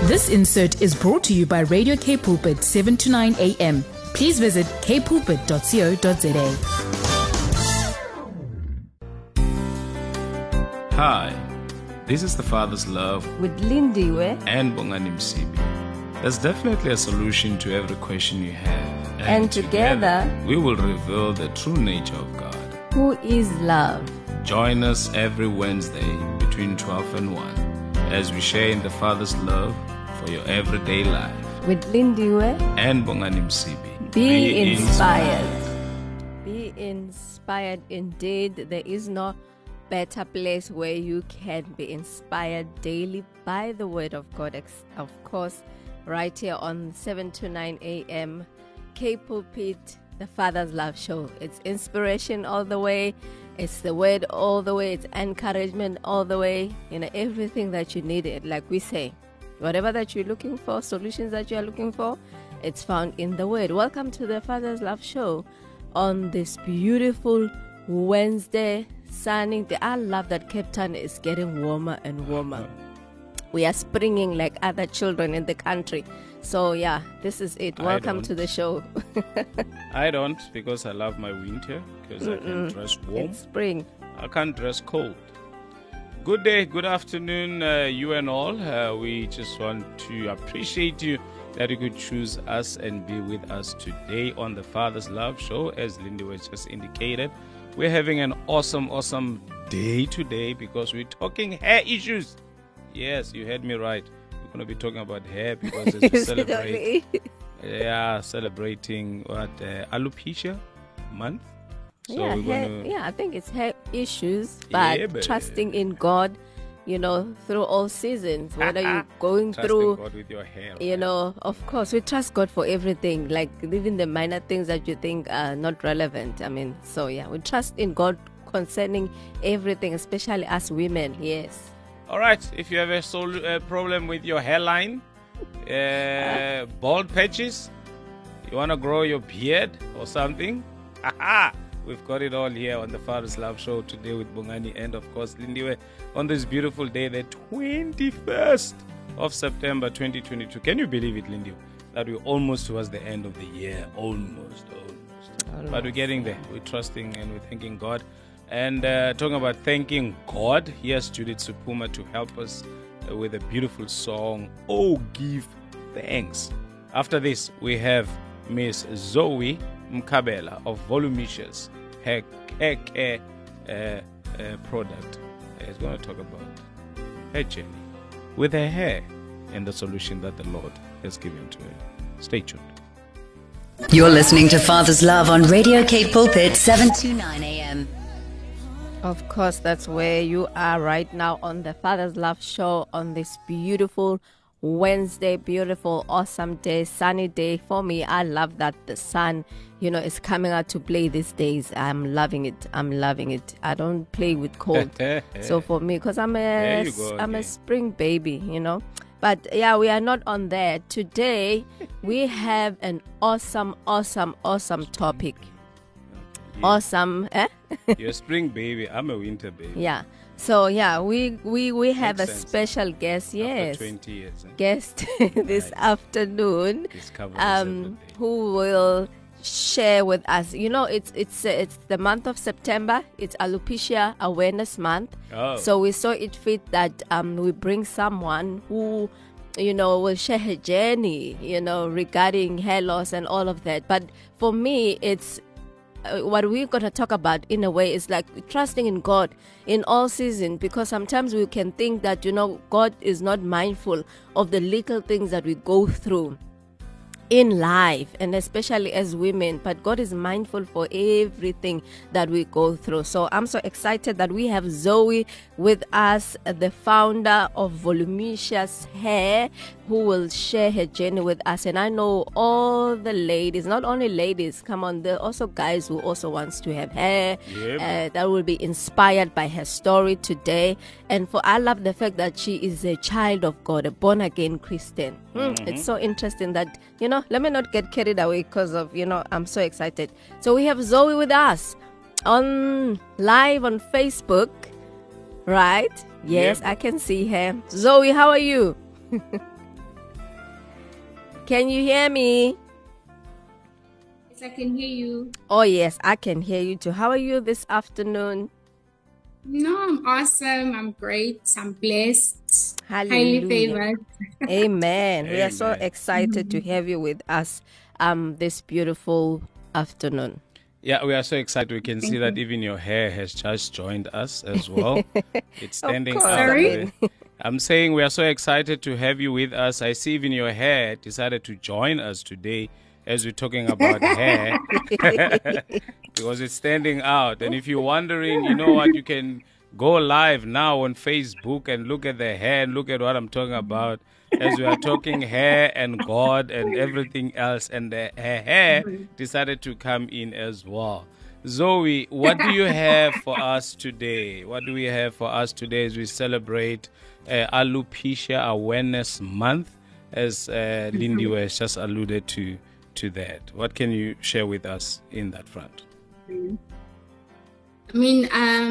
This insert is brought to you by Radio K Pulpit 7 to 9 a.m. Please visit kpulpit.co.za. Hi, this is The Father's Love with Lindiwe and Bongani Msibi. There's definitely a solution to every question you have. And together we will reveal the true nature of God, who is love. Join us every Wednesday between 12 and 1 as we share in the Father's love for your everyday life. With Lindiwe and Bongani Msibi. Be inspired. Be inspired indeed. There is no better place where you can be inspired daily by the word of God. Of course, right here on 7 to 9 a.m. K Pulpit, the Father's Love Show. It's inspiration all the way. It's the word all the way. It's encouragement all the way. You know, everything that you needed, like we say. Whatever that you're looking for, solutions that you are looking for, it's found in the word. Welcome to the Father's Love Show on this beautiful Wednesday, sunny day. I love that Cape Town is getting warmer and warmer. We are springing like other children in the country. So yeah, this is it. Welcome to the show. I don't, because I love my winter, because I can dress warm. It's spring. I can't dress cold. Good day, good afternoon, you and all. We just want to appreciate you that you could choose us and be with us today on the Father's Love Show. As Lindy was just indicated, we're having an awesome day today because we're talking hair issues. Yes, you heard me right. We're going to be talking about hair because it's celebrating what, alopecia month. So I think it's hair issues, but trusting in God, you know, through all seasons, whether you're going through, God with your hair, you know, of course, we trust God for everything, like even the minor things that you think are not relevant. I mean, so yeah, we trust in God concerning everything, especially us women, yes. All right, if you have a problem with your hairline, bald patches, you want to grow your beard or something, we've got it all here on the Father's Love Show today with Bongani and, of course, Lindiwe on this beautiful day, the 21st of September 2022. Can you believe it, Lindiwe, that we're almost towards the end of the year? Almost. But we're getting there. We're trusting and we're thanking God. And talking about thanking God, here's Judith Supuma to help us with a beautiful song, Oh Give Thanks. After this, we have Miss Zoe Mkabela of Voluminous hair care product. Is going to talk about her journey with her hair and the solution that the Lord has given to her. Stay tuned. You're listening to Father's Love on Radio K Pulpit 7 to 9 a.m. Of course, that's where you are right now on the Father's Love Show on this beautiful Wednesday, beautiful, awesome day, sunny day. For me, I love that the sun, you know, is coming out to play these days. I'm loving it. I don't play with cold. So for me, because I'm a spring baby, you know. But yeah, we are not on there. Today, we have an awesome topic. Yeah. Awesome, eh? You're a spring baby. I'm a winter baby. Yeah. So yeah, we have a special guest, yes, after 20 years, guest this afternoon, who will share with us. You know, it's the month of September. It's Alopecia Awareness Month. Oh. So we saw it fit that we bring someone who, you know, will share her journey, you know, regarding hair loss and all of that. But for me, it's what we're going to talk about in a way is like trusting in God in all seasons, because sometimes we can think that, you know, God is not mindful of the little things that we go through in life, and especially as women, but God is mindful for everything that we go through. So I'm so excited that we have Zoe with us, the founder of Voluminous Hair, who will share her journey with us. And I know all the ladies, not only ladies, come on, there are also guys who also wants to have hair, that will be inspired by her story today. And I love the fact that she is a child of God, a born again Christian. It's so interesting that, you know, let me not get carried away because of, you know, I'm so excited. So we have Zoe with us on live on Facebook, right? Yes, I can see her. Zoe, how are you? Can you hear me? Yes, I can hear you. Oh, yes, I can hear you too. How are you this afternoon? No, I'm awesome. I'm great. I'm blessed. Highly Hallelujah. favored. Amen. We are so Amen. excited to have you with us this beautiful afternoon. Yeah, we are so excited. We can see that even your hair has just joined us as well. It's standing course. out. Sorry? I'm saying we are so excited to have you with us. I see even your hair decided to join us today as we're talking about hair because it's standing out. And if you're wondering, you know what, you can go live now on Facebook and look at the hair and look at what I'm talking about as we are talking hair and God and everything else. And the hair decided to come in as well. Zoe, what do you have for us today? What do we have for us today as we celebrate Alopecia Awareness Month, as Lindy was just alluded to that? What can you share with us in that front? I mean,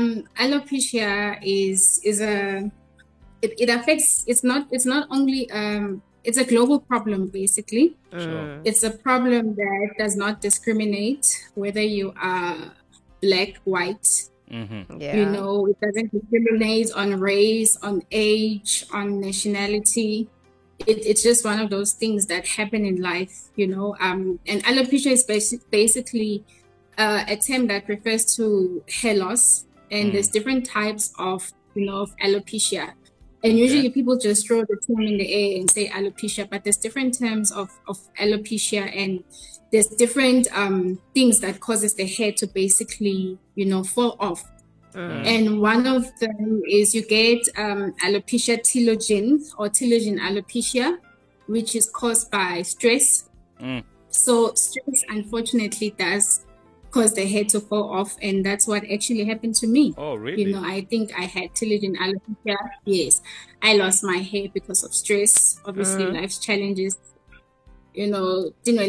alopecia is a it affects. It's not only it's a global problem basically. Sure. It's a problem that does not discriminate whether you are black, white. Yeah. You know, it doesn't discriminate on race, on age, on nationality. It's just one of those things that happen in life, you know. And alopecia is basically a term that refers to hair loss, and there's different types of, you know, of alopecia. And usually people just throw the term in the air and say alopecia, but there's different terms of alopecia, and there's different things that causes the hair to basically, you know, fall off. And one of them is you get alopecia telogen or telogen alopecia, which is caused by stress. So stress, unfortunately, does cause the hair to fall off, and that's what actually happened to me. Oh, really? You know, I think I had telogen alopecia. Yes, I lost my hair because of stress. Obviously, life's challenges. You know,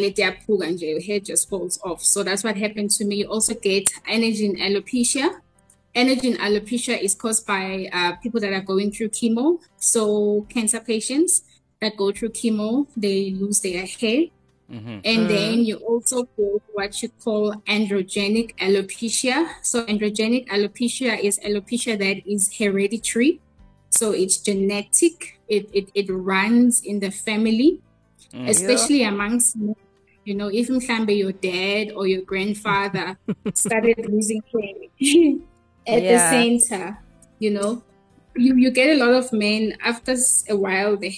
your hair just falls off. So that's what happened to me. You also get anagen alopecia. Anagen alopecia is caused by people that are going through chemo. So cancer patients that go through chemo, they lose their hair. And then you also get what you call androgenic alopecia. So androgenic alopecia is alopecia that is hereditary. So it's genetic. It runs in the family, especially amongst men. You know, if your dad or your grandfather started losing hair at the center, you know, you get a lot of men after a while, the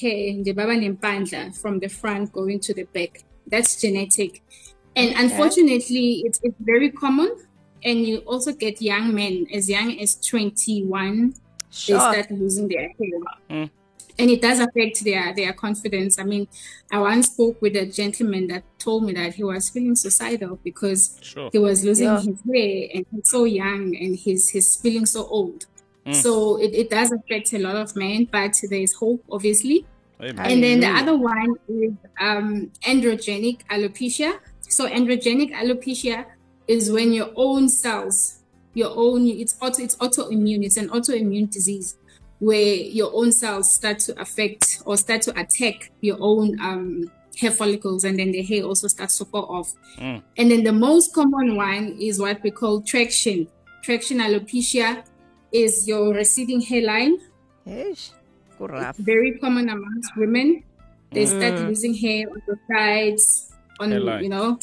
hair from the front going to the back. That's genetic. And unfortunately, it's very common. And you also get young men as young as 21, they start losing their hair. And it does affect their confidence. I mean, I once spoke with a gentleman that told me that he was feeling suicidal because he was losing his hair, and he's so young and he's feeling so old. So it does affect a lot of men, but there's hope, obviously. Amen. And then the other one is androgenic alopecia. So androgenic alopecia is when your own cells, it's autoimmune. It's an autoimmune disease where your own cells start to affect or start to attack your own hair follicles, and then the hair also starts to fall off. And then the most common one is what we call traction. Traction alopecia is your receding hairline. It's very common amongst women. They start losing hair on the sides, on hairline. You know,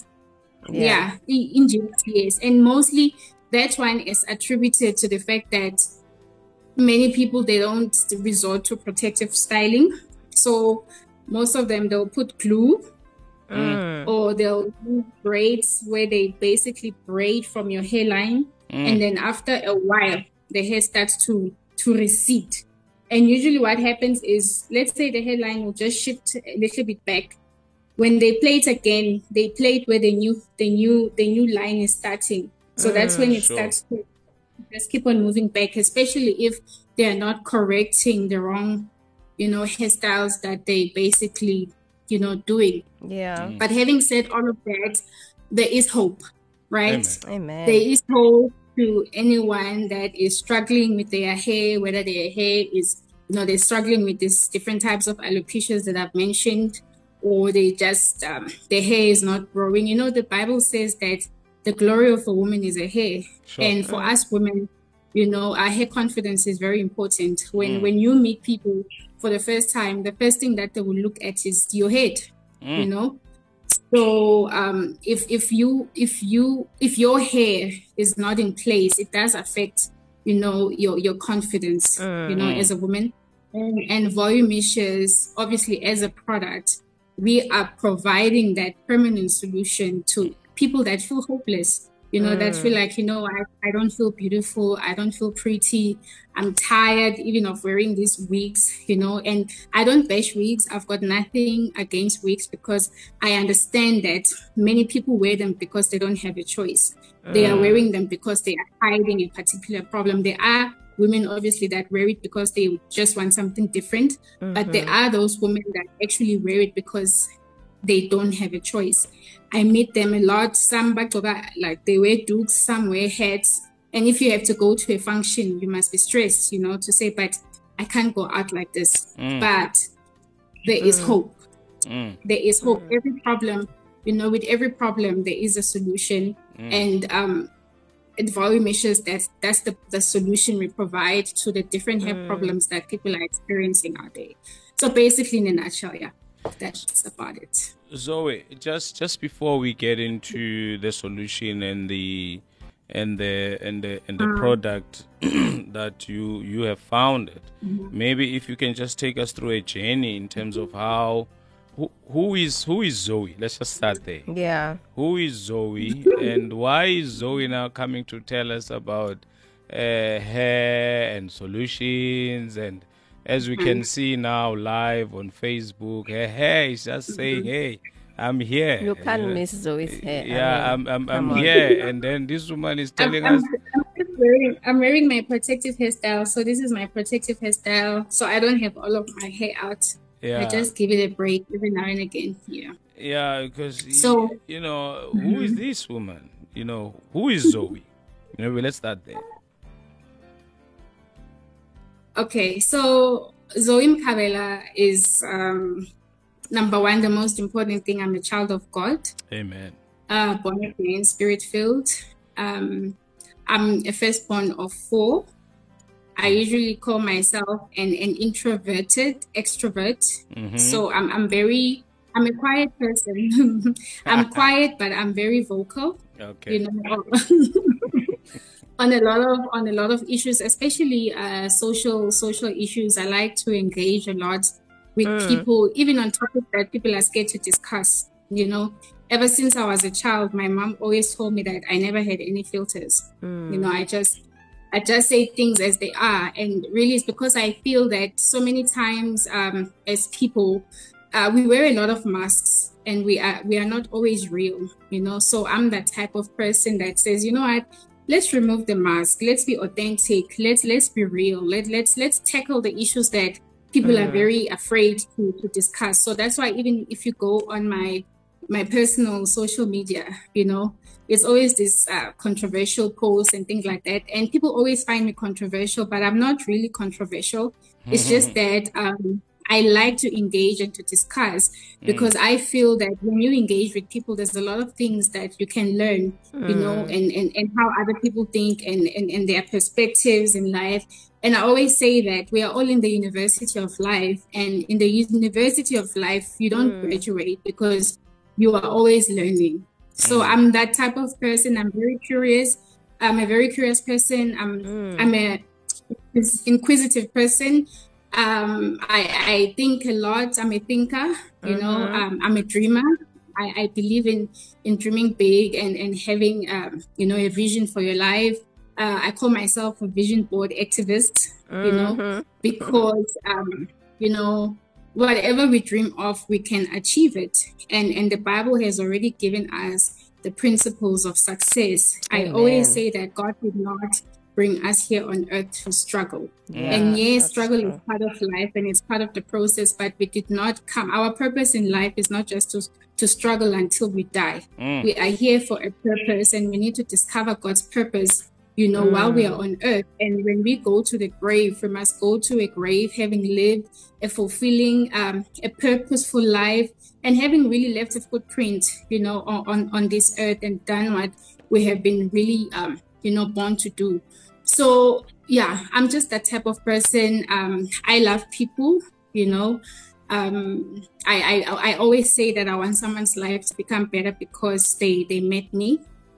in yes. And mostly that one is attributed to the fact that many people, they don't resort to protective styling. So most of them, they'll put glue or they'll use braids where they basically braid from your hairline. And then after a while, the hair starts to recede. And usually what happens is, let's say the hairline will just shift a little bit back. When they play it again, they play it where the new line is starting. So that's when it starts to just keep on moving back, especially if they are not correcting the wrong, you know, hairstyles that they basically, you know, doing. But having said all of that, there is hope, right? Amen. There is hope to anyone that is struggling with their hair, whether their hair is, you know, they're struggling with these different types of alopecias that I've mentioned, or they just their hair is not growing. You know, the Bible says that the glory of a woman is her hair. Sure. And for us women, you know, our hair confidence is very important. When you meet people for the first time, the first thing that they will look at is your head, you know. So if your hair is not in place, it does affect, you know, your confidence, you know, as a woman. And Volumicious, obviously, as a product, we are providing that permanent solution to people that feel hopeless, you know, that feel like, you know, I don't feel beautiful, I don't feel pretty, I'm tired even of wearing these wigs, you know. And I don't bash wigs. I've got nothing against wigs, because I understand that many people wear them because they don't have a choice. They are wearing them because they are hiding a particular problem. There are women, obviously, that wear it because they just want something different. But there are those women that actually wear it because they don't have a choice. I meet them a lot. Some like they wear dukes, some wear hats. And if you have to go to a function, you must be stressed, you know, to say, but I can't go out like this. But there is hope. There is hope. Every problem, you know, with every problem, there is a solution. And at Volumicious, that's the solution we provide to the different hair problems that people are experiencing out there. So basically, in a nutshell, yeah, that's about it. Zoe, just before we get into the solution and the product that you have founded, maybe if you can just take us through a journey in terms of how who is Zoe? Let's just start there. Yeah. Who is Zoe, and why is Zoe now coming to tell us about hair and solutions? And as we can see now live on Facebook, her hair is just saying, "Hey, I'm here." You can't miss Zoe's hair. Yeah, I'm here, and then this woman is telling us. I'm wearing my protective hairstyle, so this is my protective hairstyle, so I don't have all of my hair out. Yeah. I just give it a break every now and again. Yeah. Yeah, because So you know, who is this woman? You know, who is Zoe? Maybe let's start there. Okay, so Zoe Mkhabela is number one, the most important thing. I'm a child of God. Amen. Born again, spirit-filled. I'm a firstborn of 4. I usually call myself an introverted extrovert. So I'm a quiet person. I'm quiet, but I'm very vocal. Okay. You know, on a lot of issues, especially social issues. I like to engage a lot with people, even on topics that people are scared to discuss. You know, ever since I was a child, my mom always told me that I never had any filters. You know, I just say things as they are. And really it's because I feel that so many times as people, we wear a lot of masks and we are not always real, you know. So I'm that type of person that says, you know what, let's remove the mask. Let's be authentic. Let's be real. Let's tackle the issues that people are very afraid to discuss. So that's why even if you go on my personal social media, you know, it's always this controversial posts and things like that. And people always find me controversial, but I'm not really controversial. It's just that I like to engage and to discuss, because I feel that when you engage with people, there's a lot of things that you can learn, you know, and how other people think and their perspectives in life. And I always say that we are all in the university of life, and in the university of life, you don't graduate because you are always learning. So I'm that type of person. I'm very curious. I'm a very curious person. I'm a inquisitive person. I think a lot. I'm a thinker. You know, I'm a dreamer. I believe in dreaming big and having you know, a vision for your life. I call myself a vision board activist. You know, because you know, whatever we dream of, we can achieve it. And the Bible has already given us the principles of success. Amen. I always say that God did not bring us here on earth to struggle. Yeah, and yes, struggle is part of life and it's part of the process, but we did not come. Our purpose in life is not just to struggle until we die. We are here for a purpose, and we need to discover God's purpose while we are on earth. And when we go to the grave, we must go to a grave having lived a fulfilling, a purposeful life, and having really left a footprint, on this earth and done what we have been really, born to do. So, yeah, I'm just that type of person. I love people, I always say that I want someone's life to become better because they met me.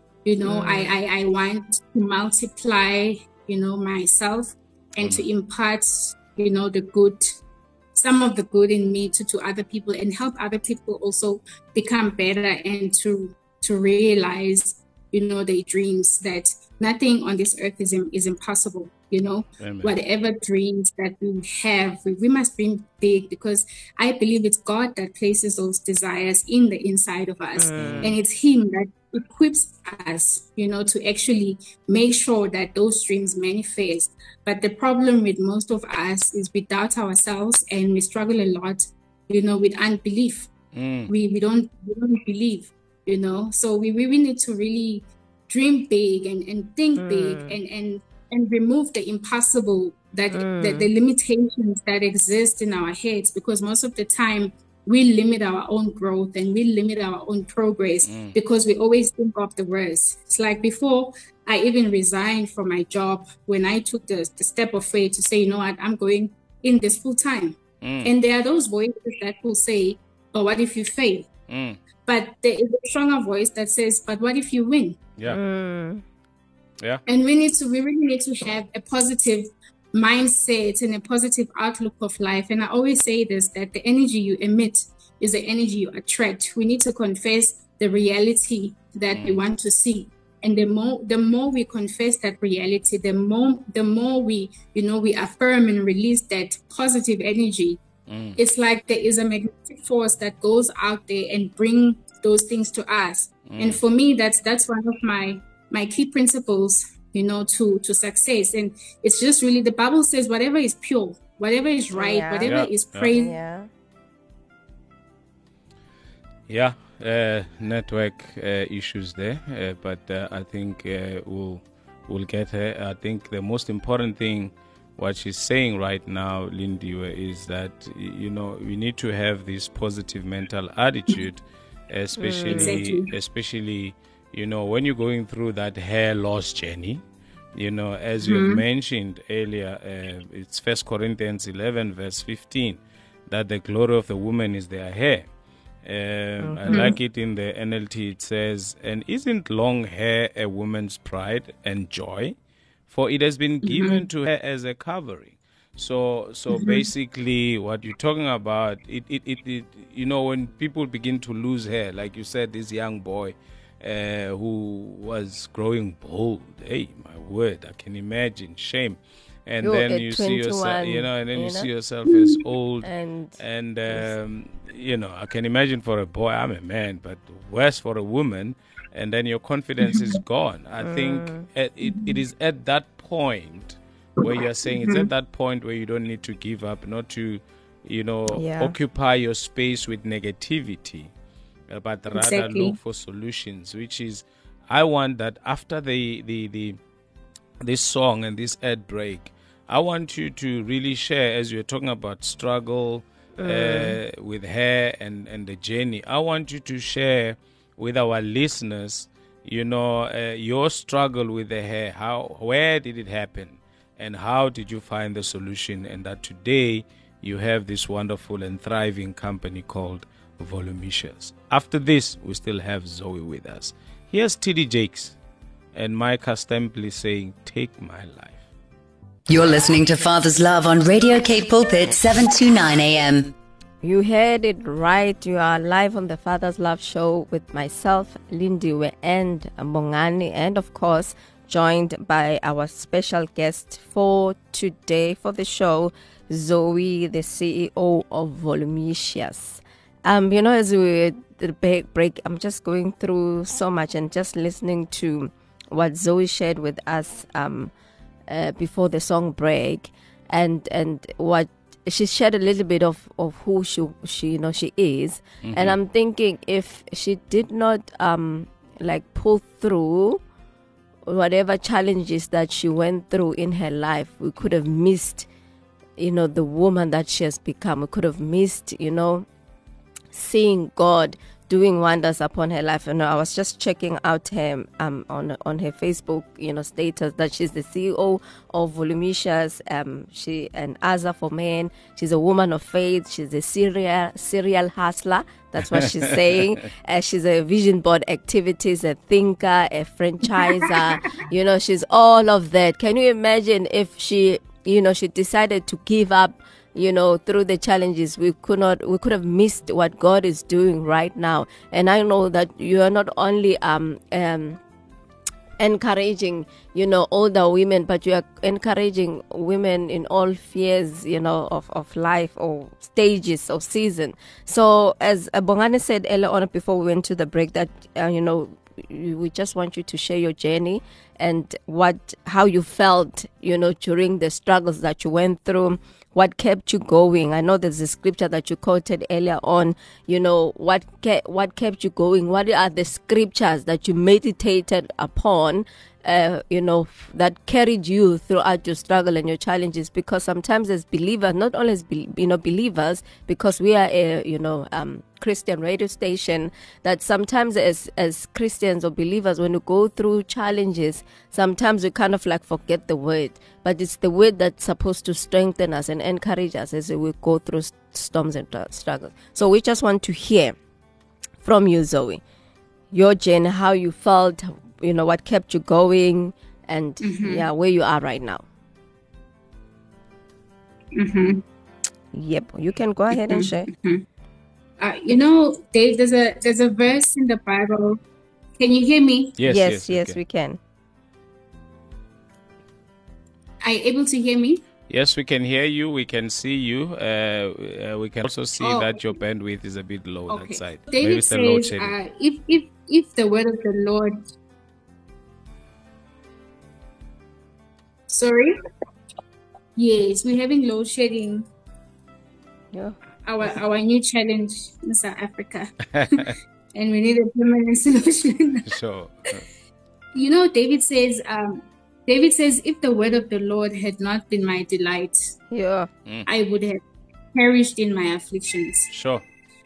I want to multiply, myself and to impart, the good, some of the good in me to other people, and help other people also become better and to realize, their dreams, that nothing on this earth is impossible. Amen. Whatever dreams that we have, we must dream big, because I believe it's God that places those desires in the inside of us. And it's Him that equips us, to actually make sure that those dreams manifest. But the problem with most of us is we doubt ourselves, and we struggle a lot, with unbelief. We don't believe, so we need to really dream big and think big and remove the impossible, that the limitations that exist in our heads, because most of the time we limit our own growth and we limit our own progress because we always think of the worst. It's like before I even resigned from my job, when I took the step of faith to say, I'm going in this full time. And there are those voices that will say, oh, what if you fail? But there is a stronger voice that says, but what if you win? Yeah. And we really need to have a positive mindset and a positive outlook of life. And I always say this, that the energy you emit is the energy you attract. We need to confess the reality that we want to see. And the more we confess that reality, the more we, we affirm and release that positive energy. It's like there is a magnetic force that goes out there and bring those things to us. And for me, that's one of my key principles, to success. And it's just really, the Bible says, whatever is pure, whatever is right, whatever is praise. Network issues there, but I think we'll get her. I think the most important thing, what she's saying right now, Lindiwe, is that we need to have this positive mental attitude, especially when you're going through that hair loss journey. As you have mentioned earlier, it's 1 Corinthians 11 verse 15, that the glory of the woman is their hair. I like it in the NLT. It says, and isn't long hair a woman's pride and joy? For it has been given to her as a covering. So basically what you're talking about, it when people begin to lose hair, like you said, this young boy who was growing bald, hey, my word, I can imagine, shame. And then you see yourself, you see yourself as old, and I can imagine for a boy, I'm a man, but worse for a woman, and then your confidence is gone. I think it is at that point where you're saying, it's at that point where you don't need to give up, not to, occupy your space with negativity, but rather look for solutions, which is, I want that after this song and this ad break, I want you to really share, as you're talking about struggle with hair and the journey. I want you to share with our listeners, your struggle with the hair. Where did it happen? And how did you find the solution? And that today you have this wonderful and thriving company called Volumicious. After this, we still have Zoe with us. Here's TD Jakes and Micah Stempley saying, Take My Life. You're listening to Father's Love on Radio Cape Pulpit, 729 AM. You heard it right. You are live on the Father's Love Show with myself, Lindiwe, and Bongani, and of course, joined by our special guest for today for the show, Zoe, the CEO of Volumicious. As we break, I'm just going through so much and just listening to what Zoe shared with us before the song break, and what she shared a little bit of who she is. And I'm thinking, if she did not pull through whatever challenges that she went through in her life, we could have missed, the woman that she has become. We could have missed, seeing God doing wonders upon her life. And I was just checking out her on her Facebook, status that she's the CEO of Volumicious. She an Asa for Men. She's a woman of faith. She's a serial hustler. That's what she's saying. She's a vision board activities, a thinker, a franchiser. She's all of that. Can you imagine if she decided to give up? Through the challenges, we could have missed what God is doing right now. And I know that you are not only encouraging, older women, but you are encouraging women in all spheres, of life or stages or season. So as Bongani said earlier on before we went to the break, that, we just want you to share your journey and how you felt, during the struggles that you went through. What kept you going? I know there's a scripture that you quoted earlier on. What kept you going? What are the scriptures that you meditated upon, that carried you throughout your struggle and your challenges? Because sometimes as believers, not only as believers, because we are a Christian radio station, that sometimes as Christians or believers, when we go through challenges, sometimes we kind of like forget the word. But it's the word that's supposed to strengthen us and encourage us as we go through storms and struggles. So we just want to hear from you, Zoe, your journey, how you felt, what kept you going, and where you are right now. Yep, you can go ahead and share. Dave, there's a verse in the Bible. Can you hear me? Yes, we can. Are you able to hear me? Yes, we can hear you. We can see you. We can also see that your bandwidth is a bit low that side. David says, if the word of the Lord... Sorry? Yes, we're having load shedding. Yeah. Our new challenge in South Africa. And we need a permanent solution. Sure. David says, if the word of the Lord had not been my delight, I would have perished in my afflictions. Sure.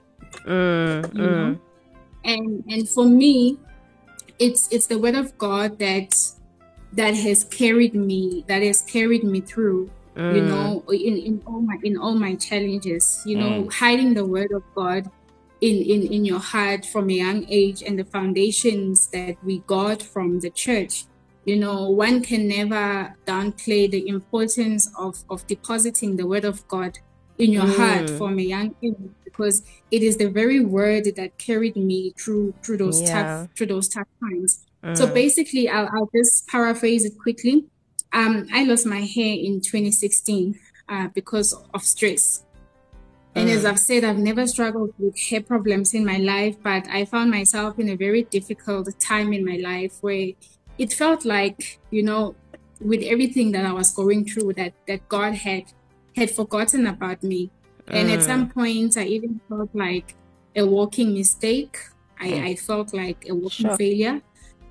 And for me, it's the word of God that has carried me through. In all my challenges, hiding the word of God in your heart from a young age, and the foundations that we got from the church. One can never downplay the importance of depositing the word of God in your heart from a young age, because it is the very word that carried me through those tough times. So basically, I'll just paraphrase it quickly. I lost my hair in 2016 because of stress. And as I've said, I've never struggled with hair problems in my life, but I found myself in a very difficult time in my life where it felt like, with everything that I was going through, that God had forgotten about me. And at some points, I even felt like a walking mistake. I felt like a walking failure.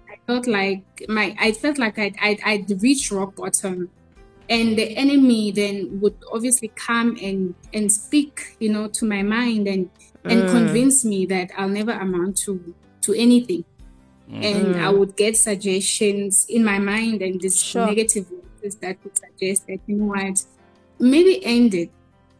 I felt like I'd reached rock bottom, and the enemy then would obviously come and speak, to my mind and convince me that I'll never amount to anything. And I would get suggestions in my mind and these negative voices that would suggest that, what, maybe end it.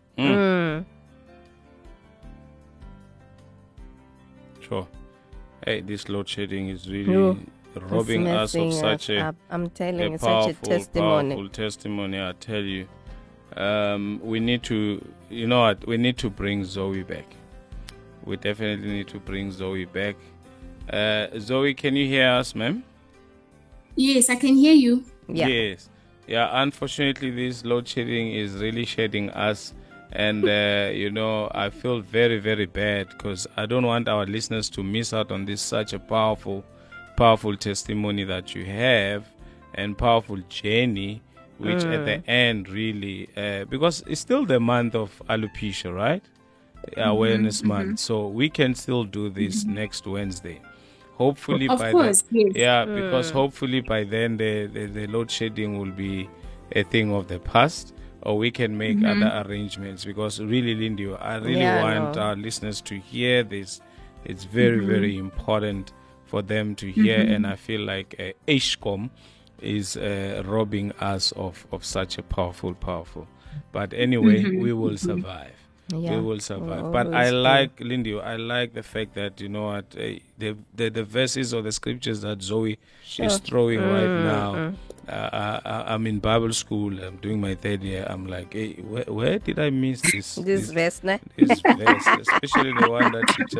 Sure. Hey, this load shedding is really robbing us of such a powerful testimony. I tell you, we need to, we need to bring Zoe back. We definitely need to bring Zoe back. Zoe, can you hear us, ma'am? Yes, I can hear you. Yes. Yeah, unfortunately, this load shedding is really shedding us. And, I feel very, very bad because I don't want our listeners to miss out on this such a powerful testimony that you have, and powerful journey, which at the end really, because it's still the month of alopecia, right? Awareness month. So we can still do this next Wednesday. hopefully Of by course, then, yes. because hopefully by then the load shedding will be a thing of the past, or we can make other arrangements. Because really, Lindy, I really want our listeners to hear this. It's very, very important for them to hear, and I feel like Eskom is robbing us of such a powerful. But anyway, we will survive. Yeah. We will survive. We'll But I always like, Lindy, I like the fact that, you know what, the verses or the scriptures that Zoe is throwing right now. I'm in Bible school. I'm doing my third year. I'm like, hey, where did I miss this? This verse, ne? This verse, especially the one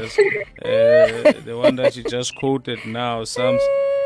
that she just quoted now, Psalms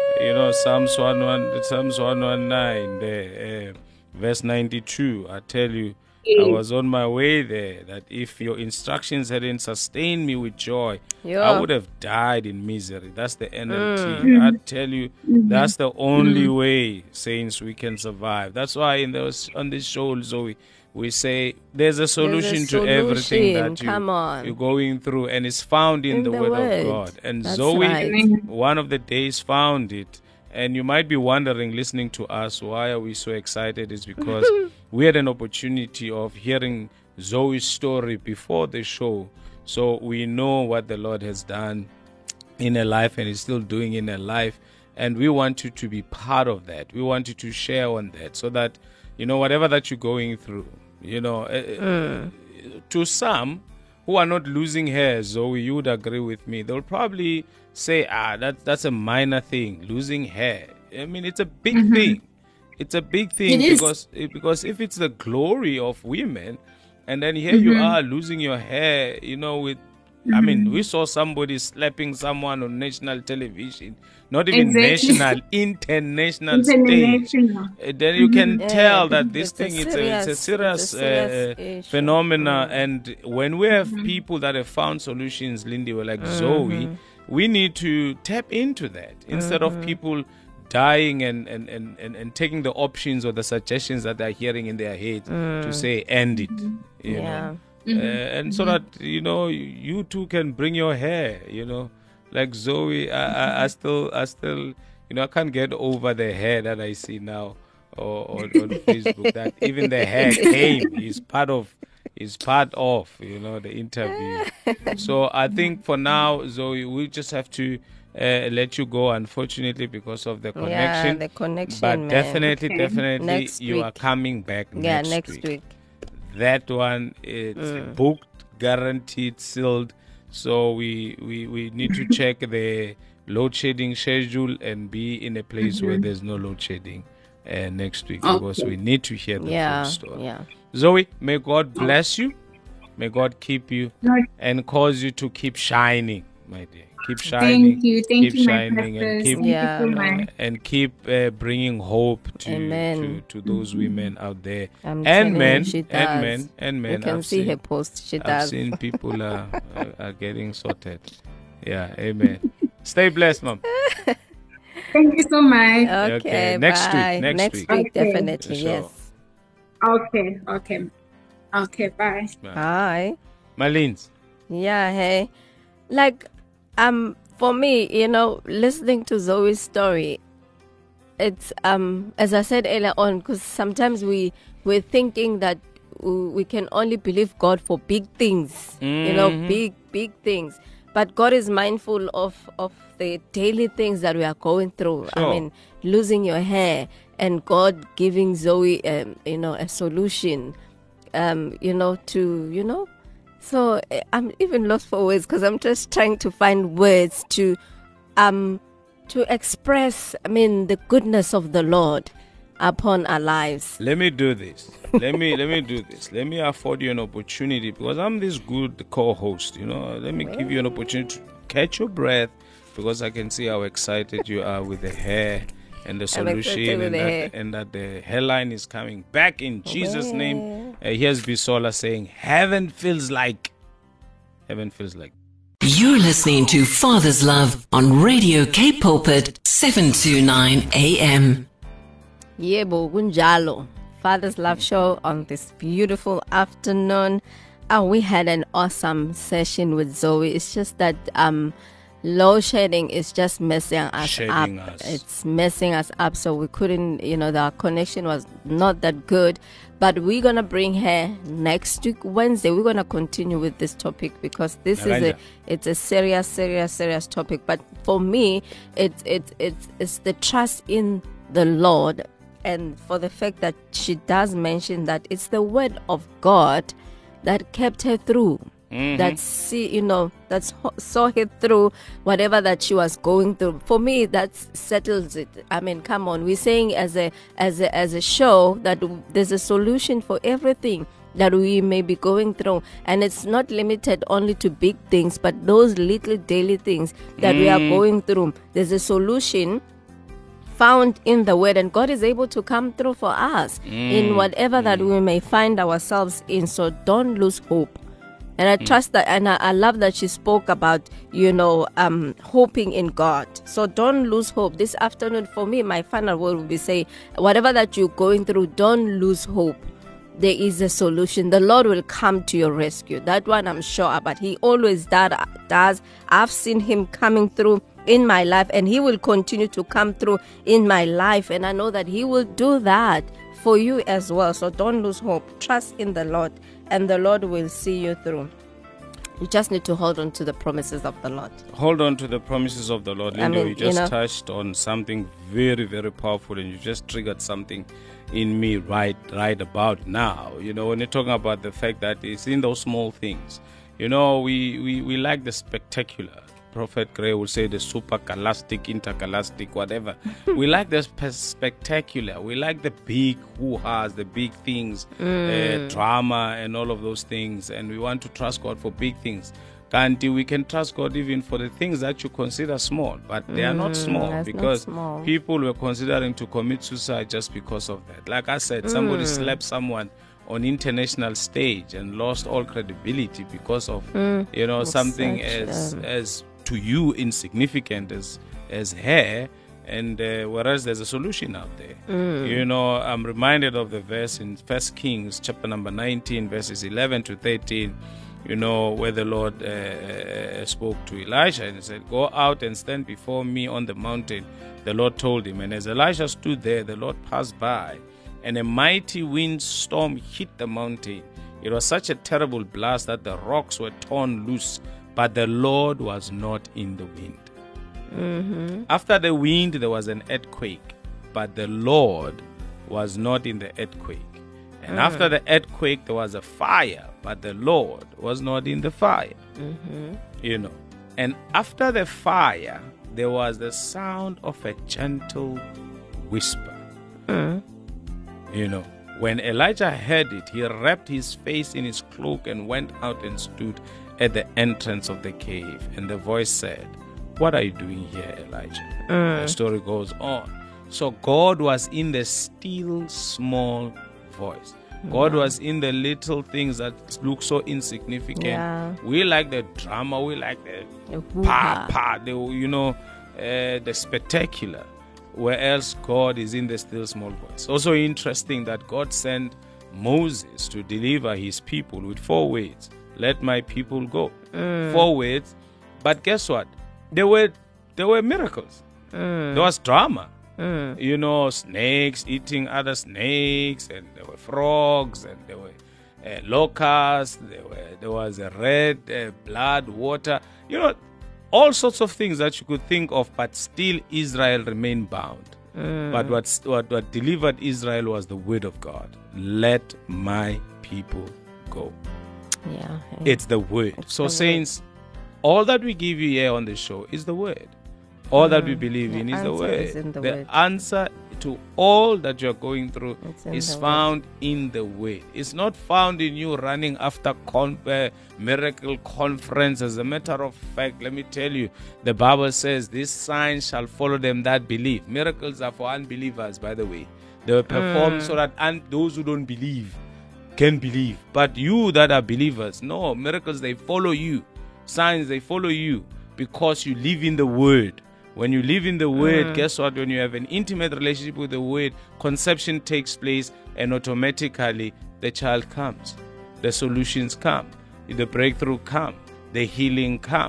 119, there, verse 92. I tell you, I was on my way there, that if your instructions hadn't sustained me with joy, I would have died in misery. That's the NLT. I tell you, that's the only way, saints, we can survive. That's why on this show, Zoe, we say there's a solution to everything that you're going through, and it's found in the Word of God. And That's Zoe, right. one of the days, found it. And you might be wondering, listening to us, why are we so excited? It's because we had an opportunity of hearing Zoe's story before the show. So we know what the Lord has done in her life and is still doing in her life. And we want you to be part of that. We want you to share on that so that, you know, whatever that you're going through, you know, to some who are not losing hair, Zoe, you would agree with me, they'll probably say, that's a minor thing, losing hair. I mean, it's a big thing. It's a big thing because if it's the glory of women, and then here you are losing your hair, you know, with, I mean, we saw somebody slapping someone on national television, not even national, international stage. Then you can tell that this thing it's a serious phenomena. And when we have people that have found solutions, Lindy, we're like Zoe, we need to tap into that instead of people dying and taking the options or the suggestions that they're hearing in their head to say end it, you know. And so that, you know, you too can bring your hair, you know, like Zoe. I still, you know, I can't get over the hair that I see now on Facebook. That even the hair came is part of, you know, the interview. So I think for now, Zoe, we just have to let you go, unfortunately, because of the connection. Yeah, the connection. But man. definitely, Next you week. are coming back Next week. That one, it's booked, guaranteed, sealed. So we need to check the load shedding schedule and be in a place where there's no load shedding next week, because we need to hear the full story. Yeah. Zoe, may God bless you. May God keep you and cause you to keep shining, my dear. Keep shining. Thank you, keep my shining, and pastors. keep Thank you so much. and keep bringing hope to Amen. those women out there I'm and telling men you, she and does. men. You can I've see seen, her post. She I've does. seen people are getting sorted. Yeah, amen. Stay blessed, Mom. Thank you so much. Okay, next bye. week. Next week, Okay. definitely. Sure. Yes. Okay, bye. Hi. Malines. Yeah, hey. Like, for me, you know, listening to Zoe's story, it's, as I said earlier on, because sometimes we're thinking that we can only believe God for big things, you know, big things. But God is mindful of the daily things that we are going through. Sure. I mean, losing your hair and God giving Zoe, you know, a solution, you know, to, you know. So I'm even lost for words because I'm just trying to find words to express, I mean, the goodness of the Lord upon our lives. Let me do this. Let me do this. Let me afford you an opportunity, because I'm this good co-host, you know. Let me give you an opportunity to catch your breath, because I can see how excited you are with the hair and the solution, and that the hairline is coming back in Jesus' name. Here's Bisola saying, Heaven feels like. You're listening to Father's Love on Radio Cape Pulpit 729 AM. Yebo kunjalo. Father's Love Show on this beautiful afternoon. We had an awesome session with Zoe. It's just that load shedding is just messing us Shedding up. us. It's messing us up. So we couldn't, the connection was not that good. But we're going to bring her next week, Wednesday. We're going to continue with this topic because this is it's a serious topic. But for me, it's the trust in the Lord. And for the fact that she does mention that it's the word of God that kept her through. That saw her through whatever that she was going through. For me, that settles it. I mean, come on, we're saying as a show that there's a solution for everything that we may be going through, and it's not limited only to big things, but those little daily things that we are going through. There's a solution found in the word, and God is able to come through for us in whatever that we may find ourselves in. So don't lose hope. And I trust that, and I love that she spoke about, hoping in God. So don't lose hope. This afternoon, for me, my final word will be say, whatever that you're going through, don't lose hope. There is a solution. The Lord will come to your rescue. That one I'm sure about. He always does. I've seen him coming through in my life, and he will continue to come through in my life. And I know that he will do that for you as well. So don't lose hope. Trust in the Lord, and the Lord will see you through. You just need to hold on to the promises of the Lord. Hold on to the promises of the Lord. Linda, you just touched on something very, very powerful, and you just triggered something in me right about now. When you're talking about the fact that it's in those small things. We like the spectacular. Prophet Gray would say the super galactic, intergalactic, whatever. We like the spectacular. We like the big hoo-has, the big things, drama and all of those things. And we want to trust God for big things. Kanti, we can trust God even for the things that you consider small. But they are not small, because people were considering to commit suicide just because of that. Like I said, somebody slapped someone on international stage and lost all credibility because of something as to you insignificant as hair, and whereas there's a solution out there. I'm reminded of the verse in 1 Kings chapter number 19 verses 11 to 13, where the Lord spoke to Elisha and he said, go out and stand before me on the mountain, the Lord told him. And as Elisha stood there, the Lord passed by, and a mighty windstorm hit the mountain. It was such a terrible blast that the rocks were torn loose, but the Lord was not in the wind. After the wind, there was an earthquake, but the Lord was not in the earthquake. And after the earthquake, there was a fire, but the Lord was not in the fire. And after the fire, there was the sound of a gentle whisper. When Elijah heard it, he wrapped his face in his cloak and went out and stood at the entrance of the cave. And the voice said, what are you doing here, Elijah? The story goes on. So God was in the still small voice. God was in the little things that look so insignificant. Yeah. We like the drama, we like the the spectacular. Where else God is in the still small voice. Also interesting that God sent Moses to deliver his people with 4 words. Let my people go. 4 words. But guess what? There were miracles. There was drama. Snakes eating other snakes, and there were frogs, and there were locusts. There was a red blood, water. All sorts of things that you could think of, but still Israel remained bound. But what delivered Israel was the word of God. Let my people go. Yeah, it's the word. So saints, all that we give you here on the show is the word. All that we believe in is the word. The answer to all that you're going through is found in the word. It's not found in you running after miracle conference. As a matter of fact, let me tell you, the Bible says these signs shall follow them that believe. Miracles are for unbelievers, by the way. They were performed so that those who don't believe can believe. But you that are believers, no, miracles, they follow you. Signs, they follow you because you live in the word. When you live in the word, guess what? When you have an intimate relationship with the word, conception takes place, and automatically the child comes. The solutions come. The breakthrough come. The healing come.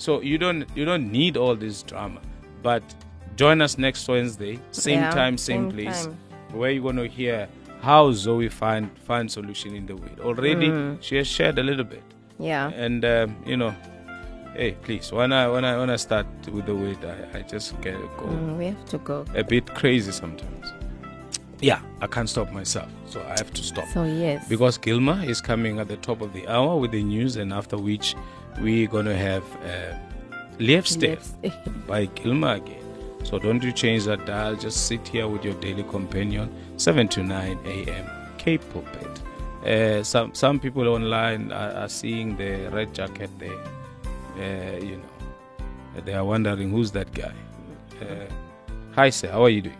So you don't need all this drama. But join us next Wednesday, same time, same place, where you're going to hear how Zoe find solution in the weed. Already she has shared a little bit. Yeah. And hey, please, when I start with the weed, I just get to go. We have to go. A bit crazy sometimes. Yeah, I can't stop myself, so I have to stop. So yes. Because Gilma is coming at the top of the hour with the news, and after which we're going to have Liefstep by Gilma again. So don't you change that dial. Just sit here with your daily companion, 7 to 9 a.m. Cape Pulpit. Some people online are seeing the red jacket there. They are wondering who's that guy. Hi, sir. How are you doing?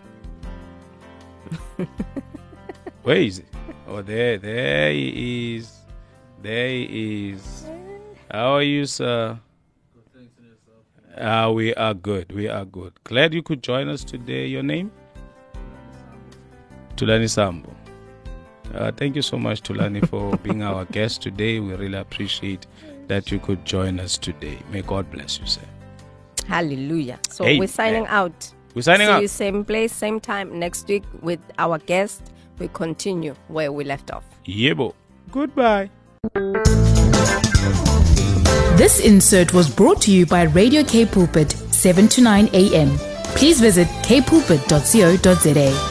Where is it? Oh, there he is. There he is. How are you, sir? We are good. We are good. Glad you could join us today. Your name? Tulani Sambo. Thank you so much, Tulani, for being our guest today. We really appreciate that you could join us today. May God bless you, sir. Hallelujah. So Amen. we're signing out. We're signing See out. you same place, same time next week with our guest. We continue where we left off. Yebo. Goodbye. This insert was brought to you by Radio K Pulpit, 7 to 9 a.m. Please visit kpulpit.co.za.